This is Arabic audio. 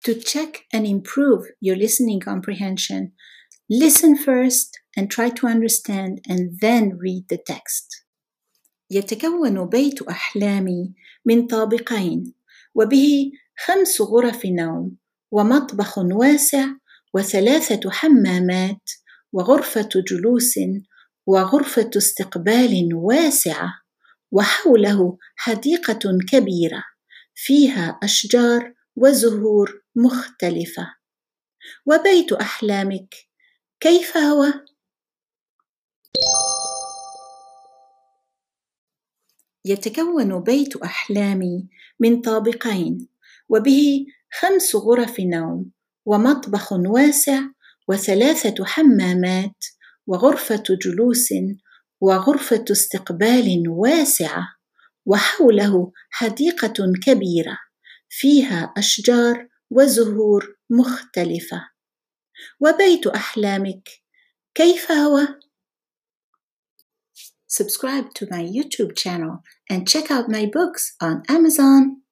To check and improve your listening comprehension, listen first and try to understand and then read the text. يتكون بيت أحلامي من طابقين، وبه 5 غرف نوم، ومطبخ واسع، و3 حمامات، وغرفة جلوس، وغرفة استقبال واسعة، وحوله حديقة كبيرة فيها أشجار وزهور مختلفة. وبيت أحلامك كيف هو؟ يتكون بيت أحلامي من طابقين، وبه 5 غرف نوم، ومطبخ واسع، و3 حمامات، وغرفة جلوس، وغرفة استقبال واسعة، وحوله حديقة كبيرة فيها أشجار وزهور مختلفة. وبيت أحلامك كيف هو؟ Subscribe to my YouTube channel and check out my books on Amazon.